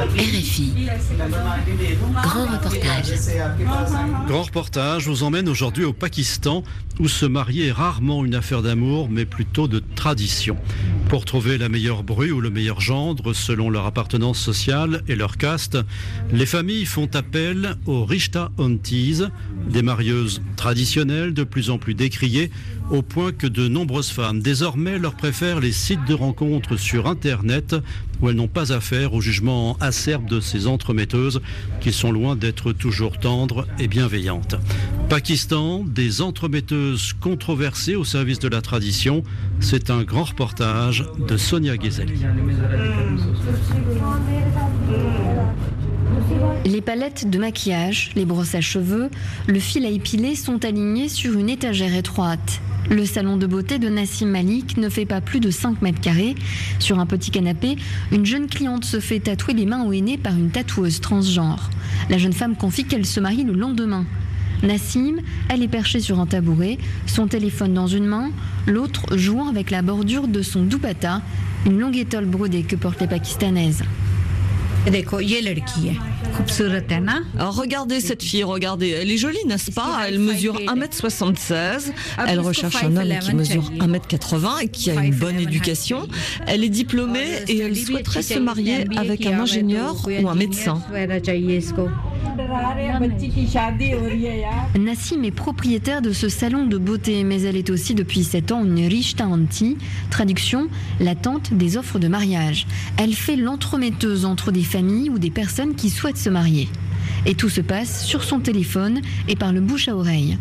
RFI. Grand reportage. Grand reportage vous emmène aujourd'hui au Pakistan, où se marier est rarement une affaire d'amour, mais plutôt de tradition. Pour trouver la meilleure bru ou le meilleur gendre, selon leur appartenance sociale et leur caste, les familles font appel aux Rishta Aunties, des marieuses traditionnelles de plus en plus décriées, au point que de nombreuses femmes désormais leur préfèrent les sites de rencontres sur Internet, où elles n'ont pas affaire au jugement acerbe de ces entremetteuses qui sont loin d'être toujours tendres et bienveillantes. Pakistan, des entremetteuses controversées au service de la tradition, c'est un grand reportage de Sonia Ghezali. Les palettes de maquillage, les brosses à cheveux, le fil à épiler sont alignés sur une étagère étroite. Le salon de beauté de Nassim Malik ne fait pas plus de 5 mètres carrés. Sur un petit canapé, une jeune cliente se fait tatouer les mains au henné par une tatoueuse transgenre. La jeune femme confie qu'elle se marie le lendemain. Nassim, elle est perchée sur un tabouret, son téléphone dans une main, l'autre jouant avec la bordure de son dupatta, une longue étole brodée que portent les Pakistanaises. Alors regardez cette fille, regardez, elle est jolie, n'est-ce pas? Elle mesure 1m76, elle recherche un homme qui mesure 1m80 et qui a une bonne éducation. Elle est diplômée et elle souhaiterait se marier avec un ingénieur ou un médecin. Nassim est propriétaire de ce salon de beauté, mais elle est aussi depuis 7 ans une Rishta Auntie, traduction, la tante des offres de mariage. Elle fait l'entremetteuse entre des familles ou des personnes qui souhaitent se marier. Et tout se passe sur son téléphone et par le bouche à oreille.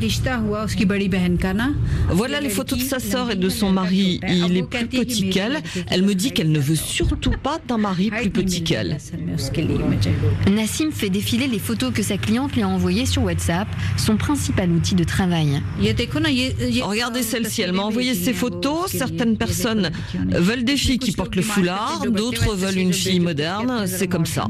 Voilà les photos de sa sœur et de son mari. Il est plus petit qu'elle. Elle me dit qu'elle ne veut surtout pas d'un mari plus petit qu'elle. Nassim fait défiler les photos que sa cliente lui a envoyées sur WhatsApp, son principal outil de travail. Regardez celle-ci, elle m'a envoyé ces photos. Certaines personnes veulent des filles qui portent le foulard, d'autres veulent une fille moderne. C'est comme ça.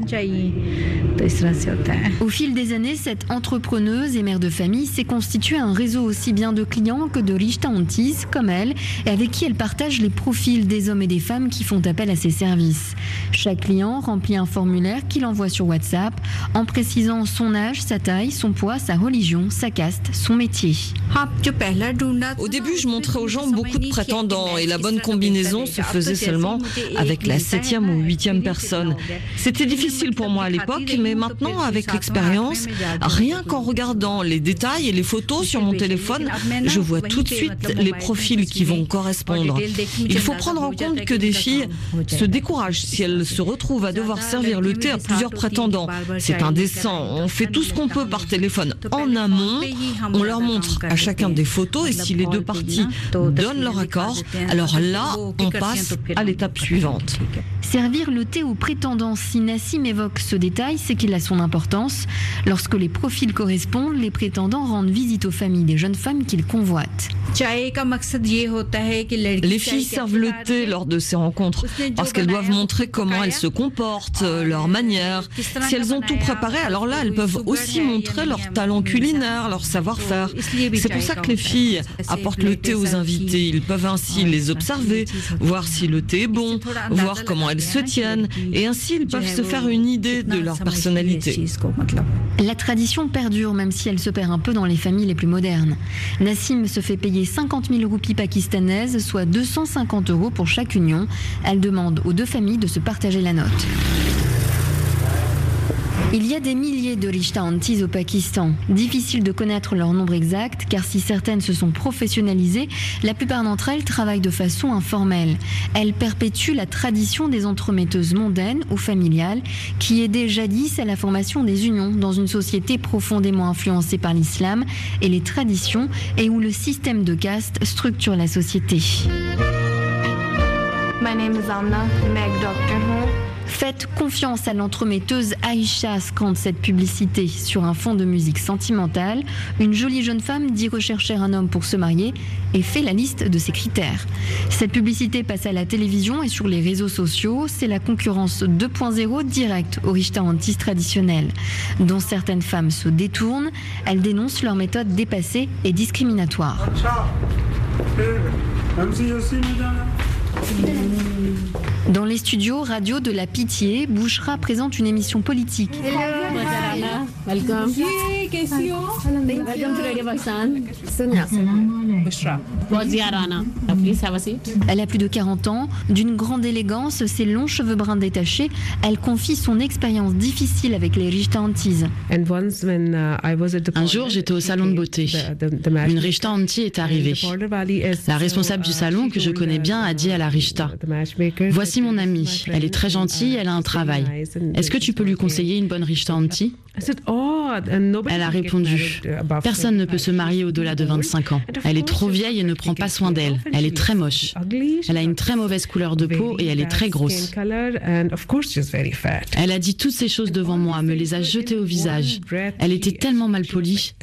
Au fil des années, cette entrepreneuse et mère de famille s'est constituée un réseau aussi bien de clients que de Rishta Aunties comme elle, et avec qui elle partage les profils des hommes et des femmes qui font appel à ses services. Chaque client remplit un formulaire qu'il envoie sur WhatsApp en précisant son âge, sa taille, son poids, sa religion, sa caste, son métier. Au début, je montrais aux gens beaucoup de prétendants et la bonne combinaison se faisait seulement avec la 7e ou 8e personne. C'était difficile pour moi à l'époque, mais maintenant, avec l'expérience, rien qu'en regardant les détails et les photos sur mon téléphone, je vois tout de suite les profils qui vont correspondre. Il faut prendre en compte que des filles se découragent si elles se retrouvent à devoir servir le thé à plusieurs prétendants. C'est indécent. On fait tout ce qu'on peut par téléphone en amont. On leur montre à chacun des photos et si les deux parties donnent leur accord, alors là, on passe à l'étape suivante. Servir le thé aux prétendants, si Nassim évoque ce détail, c'est qu'il a son importance. Lorsque les profils correspondent, les prétendants rendent visite aux familles des jeunes femmes qu'ils convoitent. Les filles servent le thé lors de ces rencontres parce qu'elles doivent montrer comment elles se comportent, leur manière. Si elles ont tout préparé, alors là, elles peuvent aussi montrer leur talent culinaire, leur savoir-faire. C'est pour ça que les filles apportent le thé aux invités. Ils peuvent ainsi les observer, voir si le thé est bon, voir comment elles se tiennent, et ainsi ils peuvent se faire une idée de leur personnalité. La tradition perdure, même si elle se perd un peu dans les familles les plus modernes. Nassim se fait payer 50 000 roupies pakistanaises, soit 250 € pour chaque union. Elle demande aux deux familles de se partager la note. Il y a des milliers de Rishta Aunties au Pakistan. Difficile de connaître leur nombre exact, car si certaines se sont professionnalisées, la plupart d'entre elles travaillent de façon informelle. Elles perpétuent la tradition des entremetteuses mondaines ou familiales, qui aidaient jadis à la formation des unions dans une société profondément influencée par l'islam et les traditions, et où le système de caste structure la société. My name is Anna, Meg Doctor. Faites confiance à l'entremetteuse Aïcha, scande cette publicité sur un fond de musique sentimentale. Une jolie jeune femme dit rechercher un homme pour se marier et fait la liste de ses critères. Cette publicité passe à la télévision et sur les réseaux sociaux. C'est la concurrence 2.0 directe aux Rishta Aunties traditionnelles, dont certaines femmes se détournent. Elles dénoncent leur méthode dépassée et discriminatoire. Dans les studios radio de La Pitié, Bouchra présente une émission politique. Welcome. Welcome to Radio Pakistan. Sonia. Bushra. Rana. Please have a seat. Elle a plus de 40 ans, d'une grande élégance, ses longs cheveux bruns détachés. Elle confie son expérience difficile avec les Rishta Antis. Un jour, j'étais au salon de beauté. Une Rishta Anti est arrivée. La responsable du salon, que je connais bien, a dit à la Rishta: voici mon amie, elle est très gentille, elle a un travail. Est-ce que tu peux lui conseiller une bonne Rishta Anti? Elle a répondu: personne ne peut se marier au-delà de 25 ans. Elle est trop vieille et ne prend pas soin d'elle. Elle est très moche. Elle a une très mauvaise couleur de peau et elle est très grosse. Elle a dit toutes ces choses devant moi, me les a jetées au visage. Elle était tellement mal polie.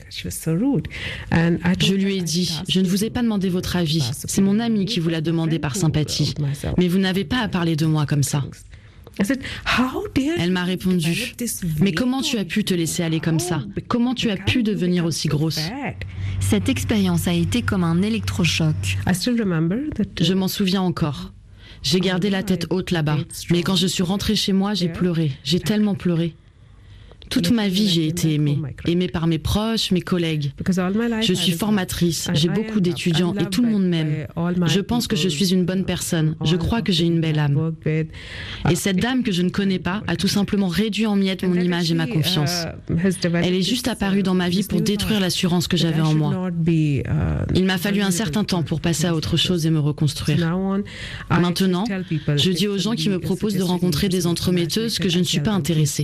Je lui ai dit: je ne vous ai pas demandé votre avis. C'est mon ami qui vous l'a demandé par sympathie. Mais vous n'avez pas à parler de moi comme ça. Elle m'a répondu: mais comment tu as pu te laisser aller comme ça? Comment tu as pu devenir aussi grosse? Cette expérience a été comme un électrochoc. Je m'en souviens encore. J'ai gardé la tête haute là-bas, mais quand je suis rentrée chez moi, j'ai pleuré. J'ai tellement pleuré. Toute ma vie, j'ai été aimée par mes proches, mes collègues. Je suis formatrice, j'ai beaucoup d'étudiants et tout le monde m'aime. Je pense que je suis une bonne personne. Je crois que j'ai une belle âme. Et cette dame que je ne connais pas a tout simplement réduit en miettes mon image et ma confiance. Elle est juste apparue dans ma vie pour détruire l'assurance que j'avais en moi. Il m'a fallu un certain temps pour passer à autre chose et me reconstruire. Maintenant, je dis aux gens qui me proposent de rencontrer des entremetteuses que je ne suis pas intéressée.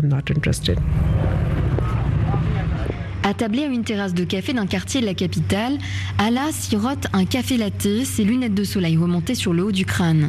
Attablée à une terrasse de café d'un quartier de la capitale, Ala sirote un café latte, ses lunettes de soleil remontées sur le haut du crâne.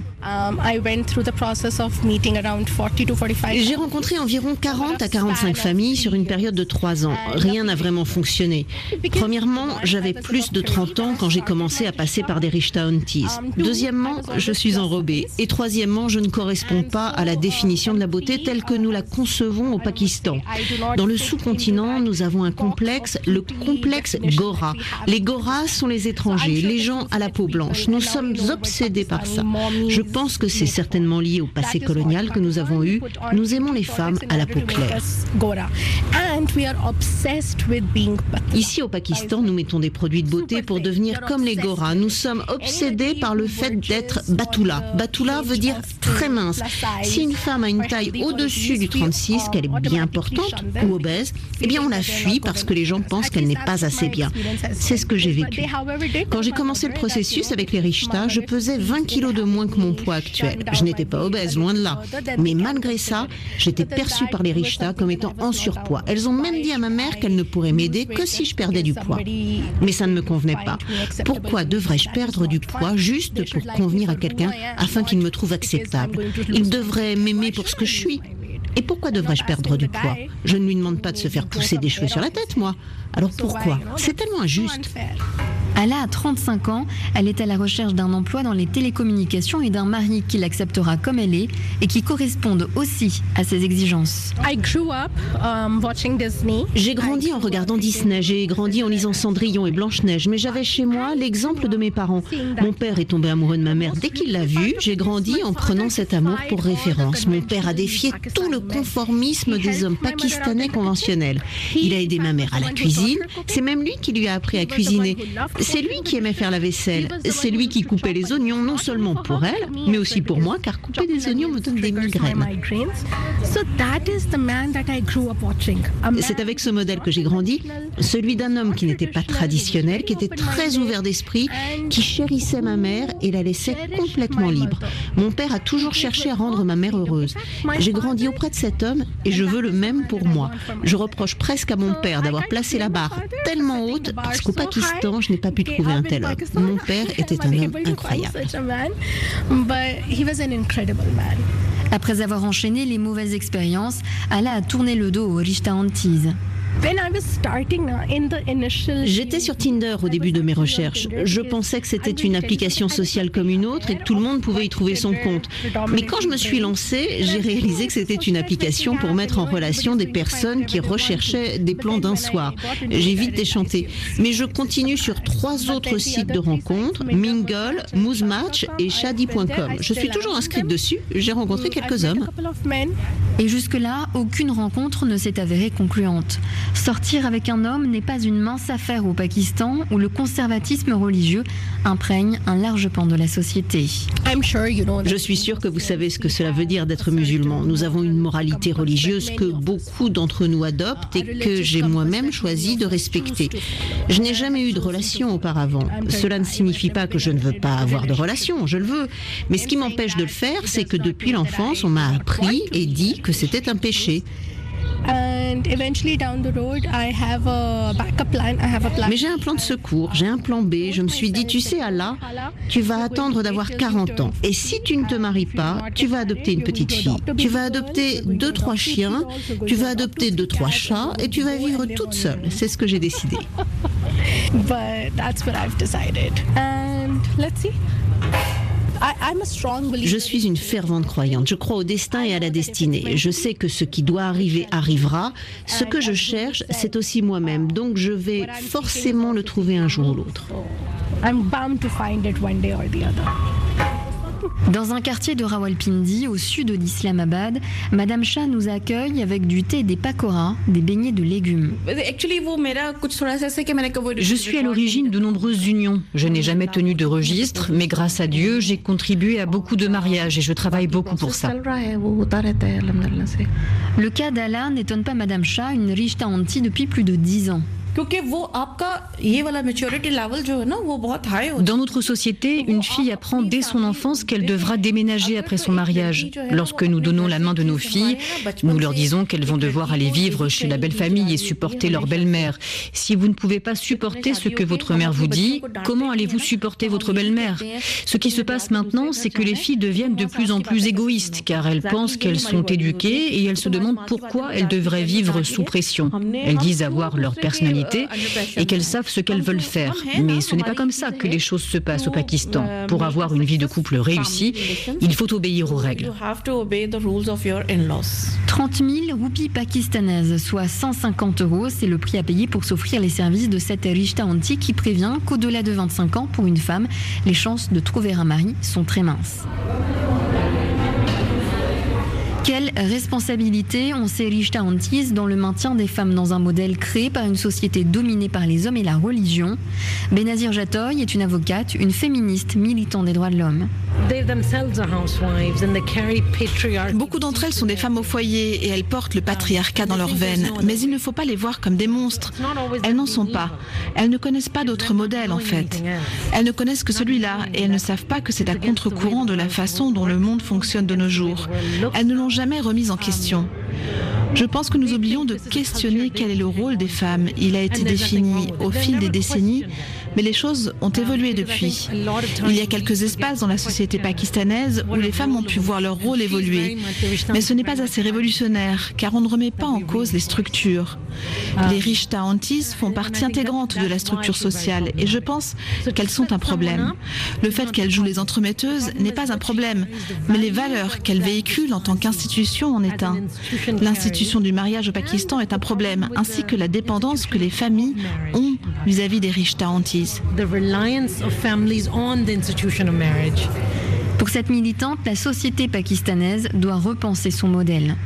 J'ai rencontré environ 40 à 45 familles sur une période de 3 ans. Rien n'a vraiment fonctionné. Premièrement, j'avais plus de 30 ans quand j'ai commencé à passer par des Rishta Antis. Deuxièmement, je suis enrobée. Et troisièmement, je ne corresponds pas à la définition de la beauté telle que nous la concevons au Pakistan. Dans le sous-continent, nous avons un complexe, le complexe Gora. Les Goras sont les étrangers, les gens à la peau blanche. Nous sommes obsédés par ça. Je pense que c'est certainement lié au passé colonial que nous avons eu. Nous aimons les femmes à la peau claire. Ici au Pakistan, nous mettons des produits de beauté pour devenir comme les Goras. Nous sommes obsédés par le fait d'être Batula. Batula veut dire très mince. Si une femme a une taille au-dessus du 36, qu'elle est bien portante ou obèse, eh bien on la fuit parce que les gens pensent qu'elle n'est pas assez bien. C'est ce que j'ai vécu. Quand j'ai commencé le processus avec les Rishta, je pesais 20 kilos de moins que mon poids actuel. Je n'étais pas obèse, loin de là. Mais malgré ça, j'étais perçue par les Rishta comme étant en surpoids. Elles ont même dit à ma mère qu'elle ne pourrait m'aider que si je perdais du poids. Mais ça ne me convenait pas. Pourquoi devrais-je perdre du poids juste pour convenir à quelqu'un afin qu'il me trouve acceptable? Il devrait m'aimer pour ce que je suis. Et pourquoi devrais-je perdre du poids? Je ne lui demande pas de se faire pousser des cheveux sur la tête, moi. Alors pourquoi? C'est tellement injuste. Ala a 35 ans, elle est à la recherche d'un emploi dans les télécommunications et d'un mari qui l'acceptera comme elle est et qui corresponde aussi à ses exigences. J'ai grandi en regardant Disney, j'ai grandi en lisant Cendrillon et Blanche-Neige, mais j'avais chez moi l'exemple de mes parents. Mon père est tombé amoureux de ma mère dès qu'il l'a vue. J'ai grandi en prenant cet amour pour référence. Mon père a défié tout le conformisme des hommes pakistanais conventionnels. Il a aidé ma mère à la cuisine. C'est même lui qui lui a appris à cuisiner. C'est lui qui aimait faire la vaisselle. C'est lui qui coupait les oignons, non seulement pour elle, mais aussi pour moi, car couper des oignons me donne des migraines. C'est avec ce modèle que j'ai grandi, celui d'un homme qui n'était pas traditionnel, qui était très ouvert d'esprit, qui chérissait ma mère et la laissait complètement libre. Mon père a toujours cherché à rendre ma mère heureuse. J'ai grandi auprès de cet homme et je veux le même pour moi. Je reproche presque à mon père d'avoir placé la barre tellement haute parce qu'au Pakistan, je n'ai pas pu trouver un tel homme. Mon père était un homme incroyable. Après avoir enchaîné les mauvaises expériences, Ala a tourné le dos aux Rishta Antis. J'étais sur Tinder au début de mes recherches. Je pensais que c'était une application sociale comme une autre et que tout le monde pouvait y trouver son compte. Mais quand je me suis lancée, j'ai réalisé que c'était une application pour mettre en relation des personnes qui recherchaient des plans d'un soir. J'ai vite déchanté. Mais je continue sur 3 autres sites de rencontres, Mingle, Moosematch et Shadi.com. Je suis toujours inscrite dessus. J'ai rencontré quelques hommes. Et jusque-là, aucune rencontre ne s'est avérée concluante. Sortir avec un homme n'est pas une mince affaire au Pakistan où le conservatisme religieux imprègne un large pan de la société. Je suis sûre que vous savez ce que cela veut dire d'être musulman. Nous avons une moralité religieuse que beaucoup d'entre nous adoptent et que j'ai moi-même choisi de respecter. Je n'ai jamais eu de relation auparavant. Cela ne signifie pas que je ne veux pas avoir de relation, je le veux. Mais ce qui m'empêche de le faire, c'est que depuis l'enfance, on m'a appris et dit que c'était un péché. Mais j'ai un plan de secours, j'ai un plan B. Je me suis dit, tu sais Allah, tu vas attendre d'avoir 40 ans. Et si tu ne te maries pas, tu vas adopter une petite fille. Tu vas adopter 2-3 chiens, tu vas adopter 2-3 chats et tu vas vivre toute seule. C'est ce que j'ai décidé. Je suis une fervente croyante. Je crois au destin et à la destinée. Je sais que ce qui doit arriver arrivera. Ce que je cherche, c'est aussi moi-même. Donc je vais forcément le trouver un jour ou l'autre. Dans un quartier de Rawalpindi, au sud d'Islamabad, Madame Shah nous accueille avec du thé et des pakoras, des beignets de légumes. Je suis à l'origine de nombreuses unions. Je n'ai jamais tenu de registre, mais grâce à Dieu, j'ai contribué à beaucoup de mariages et je travaille beaucoup pour ça. Le cas d'Allah n'étonne pas Madame Shah, une rishta aunty depuis plus de 10 ans. Dans notre société, une fille apprend dès son enfance qu'elle devra déménager après son mariage. Lorsque nous donnons la main de nos filles, nous leur disons qu'elles vont devoir aller vivre chez la belle famille et supporter leur belle-mère. Si vous ne pouvez pas supporter ce que votre mère vous dit, comment allez-vous supporter votre belle-mère? Ce qui se passe maintenant, c'est que les filles deviennent de plus en plus égoïstes, car elles pensent qu'elles sont éduquées et elles se demandent pourquoi elles devraient vivre sous pression. Elles disent avoir leur personnalité et qu'elles savent ce qu'elles veulent faire. Mais ce n'est pas comme ça que les choses se passent au Pakistan. Pour avoir une vie de couple réussie, il faut obéir aux règles. 30 000 roupies pakistanaises, soit 150 €, c'est le prix à payer pour s'offrir les services de cette rishta aunty qui prévient qu'au-delà de 25 ans, pour une femme, les chances de trouver un mari sont très minces. Quelle responsabilité ont ces rishta aunties dans le maintien des femmes dans un modèle créé par une société dominée par les hommes et la religion? Benazir Jatoy est une avocate, une féministe militante des droits de l'homme. Beaucoup d'entre elles sont des femmes au foyer et elles portent le patriarcat dans leurs veines. Mais il ne faut pas les voir comme des monstres. Elles n'en sont pas. Elles ne connaissent pas d'autres modèles en fait. Elles ne connaissent que celui-là et elles ne savent pas que c'est à contre-courant de la façon dont le monde fonctionne de nos jours. Elles ne l'ont jamais remise en question. Je pense que nous oublions de questionner quel est le rôle des femmes. Il a été défini au fil des décennies, mais les choses ont évolué depuis. Il y a quelques espaces dans la société pakistanaise où les femmes ont pu voir leur rôle évoluer. Mais ce n'est pas assez révolutionnaire, car on ne remet pas en cause les structures. Les rishta aunties font partie intégrante de la structure sociale, et je pense qu'elles sont un problème. Le fait qu'elles jouent les entremetteuses n'est pas un problème, mais les valeurs qu'elles véhiculent en tant qu'institution en est un. L'institution du mariage au Pakistan est un problème, ainsi que la dépendance que les familles ont vis-à-vis des rishta aunties. Pour cette militante, la société pakistanaise doit repenser son modèle.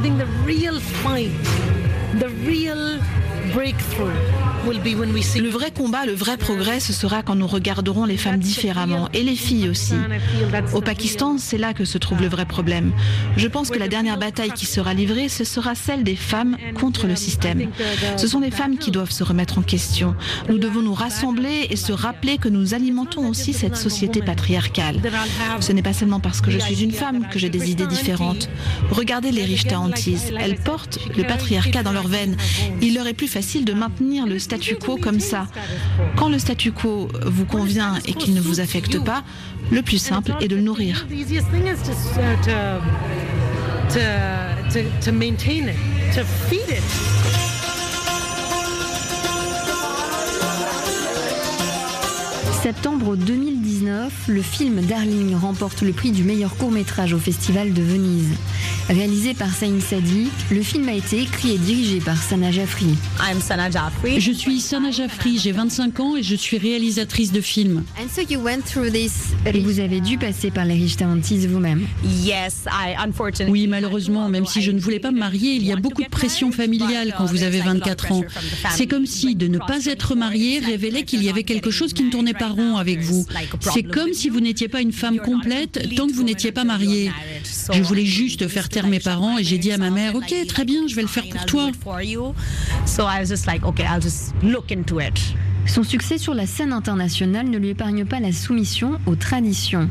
Le vrai combat, le vrai progrès, ce sera quand nous regarderons les femmes différemment, et les filles aussi. Au Pakistan, c'est là que se trouve le vrai problème. Je pense que la dernière bataille qui sera livrée, ce sera celle des femmes contre le système. Ce sont les femmes qui doivent se remettre en question. Nous devons nous rassembler et se rappeler que nous alimentons aussi cette société patriarcale. Ce n'est pas seulement parce que je suis une femme que j'ai des idées différentes. Regardez les rishta aunties, elles portent le patriarcat dans leurs veines. Il leur est plus facile de maintenir le statu quo comme ça. Quand le statu quo vous convient et qu'il ne vous affecte pas, le plus simple est de le nourrir. Septembre 2019, le film Darling remporte le prix du meilleur court-métrage au Festival de Venise. Réalisé par Saïm Sadiq, le film a été écrit et dirigé par Sana Jafri. Je suis Sana Jafri, j'ai 25 ans et je suis réalisatrice de films. Et vous avez dû passer par les Richter Antilles vous-même. Oui, malheureusement, même si je ne voulais pas me marier, il y a beaucoup de pression familiale quand vous avez 24 ans. C'est comme si de ne pas être marié révélait qu'il y avait quelque chose qui ne tournait pas rond avec vous. C'est comme si vous n'étiez pas une femme complète tant que vous n'étiez pas mariée. Je voulais juste faire taire mes parents et j'ai dit à ma mère, ok, très bien, je vais le faire pour toi. Son succès sur la scène internationale ne lui épargne pas la soumission aux traditions.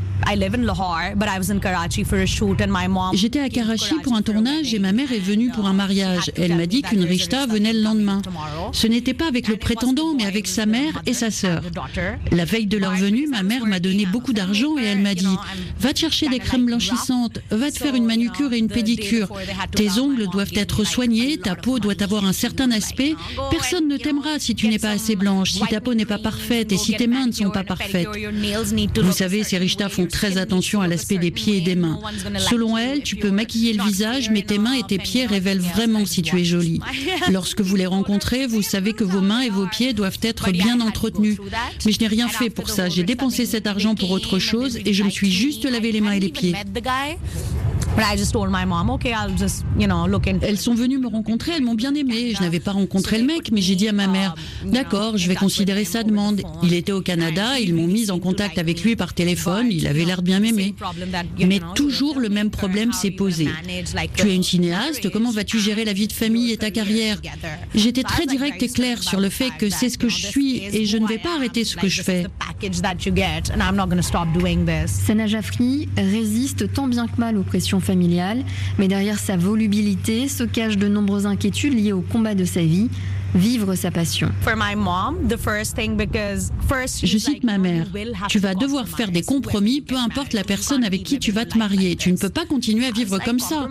J'étais à Karachi pour un tournage et ma mère est venue pour un mariage. Elle m'a dit qu'une rishta venait le lendemain. Ce n'était pas avec le prétendant, mais avec sa mère et sa sœur. La veille de leur venue, ma mère m'a donné beaucoup d'argent et elle m'a dit « Va te chercher des crèmes blanchissantes, va te faire une manucure et une pédicure. Tes ongles doivent être soignés, ta peau doit avoir un certain aspect. Personne ne t'aimera si tu n'es pas assez blanche. Si ta peau n'est pas parfaite et si tes mains ne sont pas parfaites. » Vous savez, ces rishtas font très attention à l'aspect des pieds et des mains. Selon elles, tu peux maquiller le visage, mais tes mains et tes pieds révèlent vraiment si tu es jolie. Lorsque vous les rencontrez, vous savez que vos mains et vos pieds doivent être bien entretenus. Mais je n'ai rien fait pour ça. J'ai dépensé cet argent pour autre chose et je me suis juste lavé les mains et les pieds. Elles sont venues me rencontrer, elles m'ont bien aimée. Je n'avais pas rencontré le mec, mais j'ai dit à ma mère, d'accord, je vais considérer sa demande. Il était au Canada, ils m'ont mise en contact avec lui par téléphone, il avait l'air de bien m'aimer. Mais toujours le même problème s'est posé. Tu es une cinéaste, comment vas-tu gérer la vie de famille et ta carrière? J'étais très directe et claire sur le fait que c'est ce que je suis et je ne vais pas arrêter ce que je fais. Sana Jafri résiste tant bien que mal aux pressions familiale, mais derrière sa volubilité se cachent de nombreuses inquiétudes liées au combat de sa vie, vivre sa passion. Je cite ma mère, tu vas devoir faire des compromis, peu importe la personne avec qui tu vas te marier. Tu ne peux pas continuer à vivre comme ça.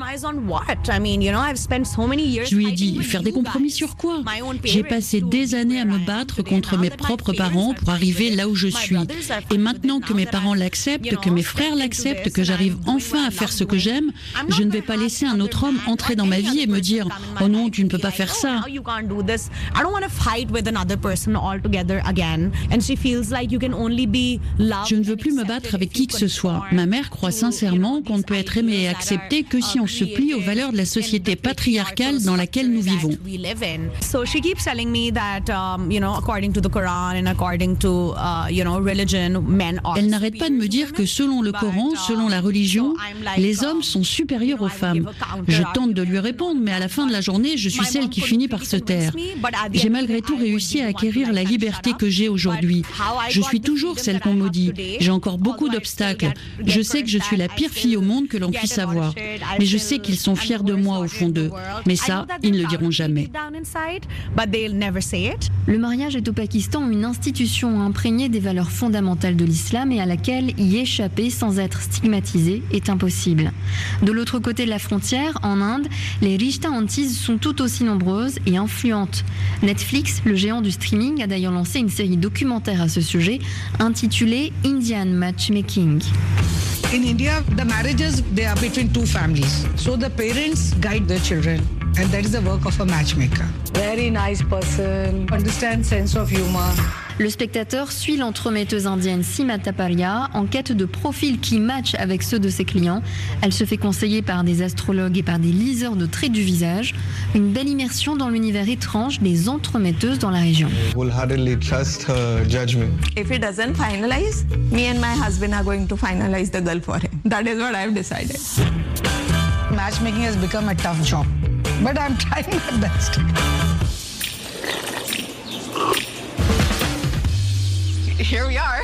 Je lui ai dit, faire des compromis sur quoi? J'ai passé des années à me battre contre mes propres parents pour arriver là où je suis. Et maintenant que mes parents l'acceptent, que mes frères l'acceptent, que j'arrive enfin à faire ce que j'aime, je ne vais pas laisser un autre homme entrer dans ma vie et me dire, oh non, tu ne peux pas faire ça. Je ne veux plus me battre avec qui que ce soit. Ma mère croit sincèrement qu'on ne peut être aimé et accepté que si on se plie aux valeurs de la société patriarcale dans laquelle nous vivons. Elle n'arrête pas de me dire que selon le Coran, selon la religion, les hommes sont supérieurs aux femmes. Je tente de lui répondre, mais à la fin de la journée, je suis celle qui finit par se taire. J'ai malgré tout réussi à acquérir la liberté que j'ai aujourd'hui. Je suis toujours celle qu'on maudit. J'ai encore beaucoup d'obstacles. Je sais que je suis la pire fille au monde que l'on puisse avoir. Mais je sais qu'ils sont fiers de moi au fond d'eux. Mais ça, ils ne le diront jamais. Le mariage est au Pakistan une institution imprégnée des valeurs fondamentales de l'islam et à laquelle y échapper sans être stigmatisé est impossible. De l'autre côté de la frontière, en Inde, les Rishta Antilles sont tout aussi nombreuses et influentes. Netflix, le géant du streaming, a d'ailleurs lancé une série documentaire à ce sujet intitulée Indian Matchmaking. In India, the marriages, they are between two families. So the parents guide their children. And that is the work of a matchmaker. Very nice person, understands sense of humor. Le spectateur suit l'entremetteuse indienne Seema Taparia en quête de profils qui matchent avec ceux de ses clients. Elle se fait conseiller par des astrologues et par des liseurs de traits du visage. Une belle immersion dans l'univers étrange des entremetteuses dans la région. Wholeheartedly trust her judgment. If he doesn't finalize, me and my husband are going to finalize the girl for him. That is what I have decided. Matchmaking has become a tough job, but I'm trying my best. Here we are.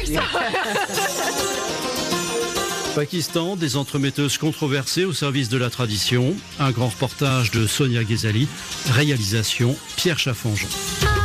Pakistan, des entremetteuses controversées au service de la tradition. Un grand reportage de Sonia Ghezali. Réalisation Pierre Chaffanjon.